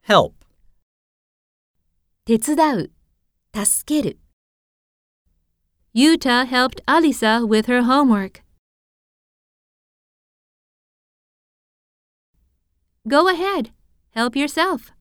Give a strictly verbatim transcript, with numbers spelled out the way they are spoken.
help, 手伝う、助ける。 Yuta helped Alisa with her homework. Go ahead, help yourself.